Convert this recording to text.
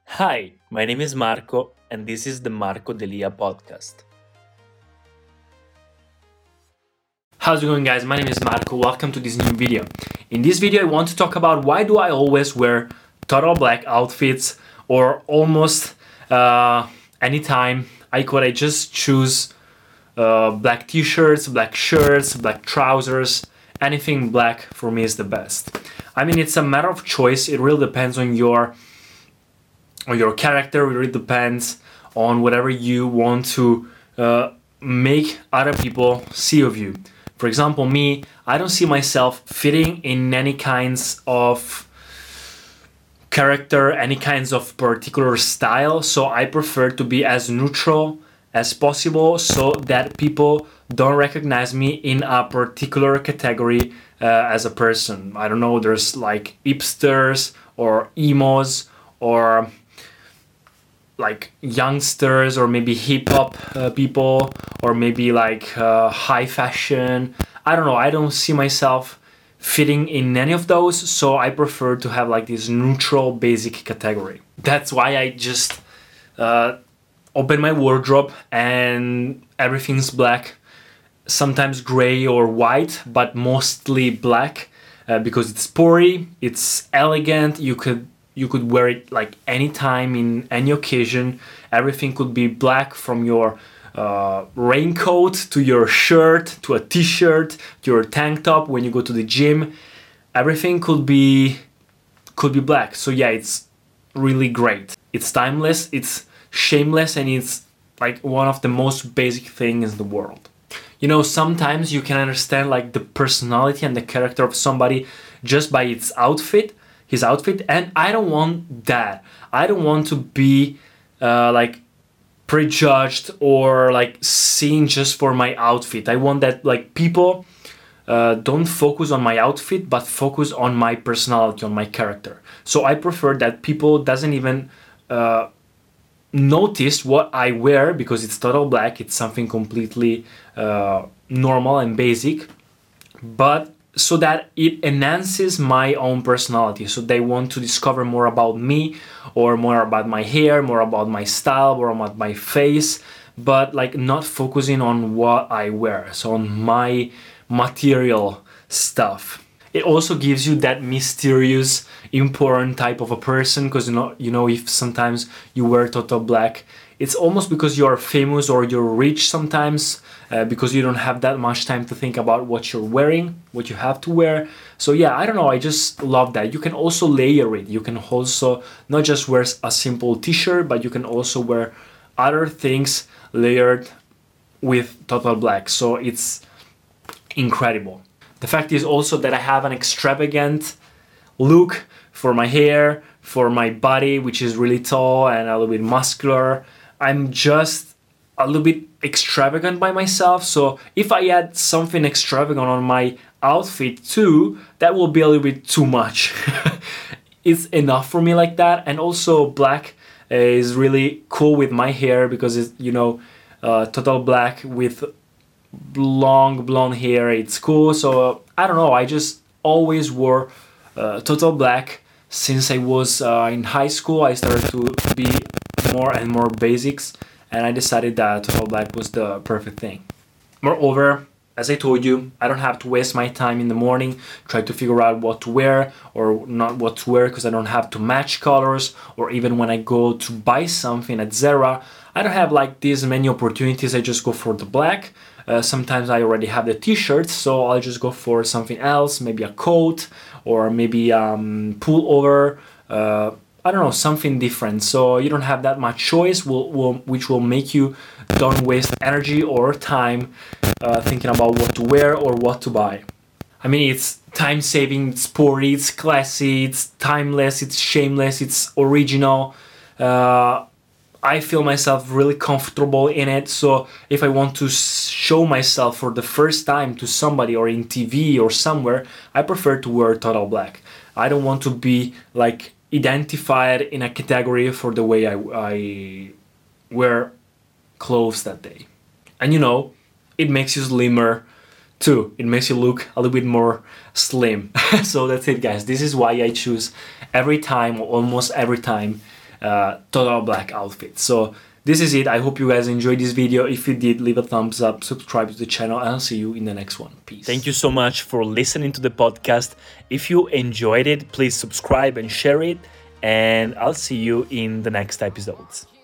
Hi, my name is Marco, and this is the Marco Delia podcast. How's it going, guys? My name is Marco. Welcome to this new video. In this video, I want to talk about why do I always wear total black outfits or almost anytime I just choose black t-shirts, black shirts, black trousers. Anything black for me is the best. I mean, it's a matter of choice. It really depends on your character. It really depends on whatever you want to make other people see of you. For example, me, I don't see myself fitting in any kinds of character, any kinds of particular style, so I prefer to be as neutral as possible so that people don't recognize me in a particular category as a person. I don't know, there's like hipsters or emos or like youngsters or maybe hip-hop people or maybe like high fashion. I don't know, I don't see myself fitting in any of those, so I prefer to have like this neutral basic category. That's why I just open my wardrobe and everything's black, sometimes gray or white, but mostly black because it's sporty, it's elegant. You could wear it like anytime in any occasion. Everything could be black, from your raincoat to your shirt to a t-shirt to your tank top when you go to the gym. Everything could be black. So yeah, it's really great. It's timeless, it's shameless, and it's like one of the most basic things in the world. You know, sometimes you can understand like the personality and the character of somebody just by his outfit, and I don't want that. I don't want to be like prejudged or like seen just for my outfit. I want that like people don't focus on my outfit but focus on my personality, on my character. So I prefer that people doesn't even notice what I wear because it's total black. It's something completely normal and basic, but so that it enhances my own personality. So they want to discover more about me, or more about my hair, more about my style, more about my face, but like not focusing on what I wear, so on my material stuff. It also gives you that mysterious, important type of a person, because you know, if sometimes you wear total black, it's almost because you're famous or you're rich sometimes, because you don't have that much time to think about what you're wearing, what you have to wear. So yeah, I don't know, I just love that. You can also layer it. You can also not just wear a simple t-shirt, but you can also wear other things layered with total black. So it's incredible. The fact is also that I have an extravagant look for my hair, for my body, which is really tall and a little bit muscular. I'm just a little bit extravagant by myself, so if I add something extravagant on my outfit too, that will be a little bit too much. It's enough for me like that. And also black is really cool with my hair because it's, you know, total black with long blonde hair, it's cool. So I don't know, I just always wore total black since I was in high school. I started to be more and more basics, and I decided that total black was the perfect thing. Moreover, as I told you, I don't have to waste my time in the morning trying to figure out what to wear or not what to wear, because I don't have to match colors. Or even when I go to buy something at Zara, I don't have like these many opportunities. I just go for the black. Sometimes I already have the t-shirts, so I'll just go for something else, maybe a coat or maybe pullover. I don't know, something different. So you don't have that much choice, which will make you don't waste energy or time thinking about what to wear or what to buy. I mean, it's time-saving, it's sporty, it's classy, it's timeless, it's shameless, it's original. I feel myself really comfortable in it. So if I want to show myself for the first time to somebody or in TV or somewhere, I prefer to wear total black. I don't want to be like identified in a category for the way I wear clothes that day. And you know, it makes you slimmer too. It makes you look a little bit more slim. So that's it, guys. This is why I choose every time, or almost every time, total black outfit. So this is it. I hope you guys enjoyed this video. If you did, leave a thumbs up, subscribe to the channel, and I'll see you in the next one. Peace. Thank you so much for listening to the podcast. If you enjoyed it, please subscribe and share it, and I'll see you in the next episodes.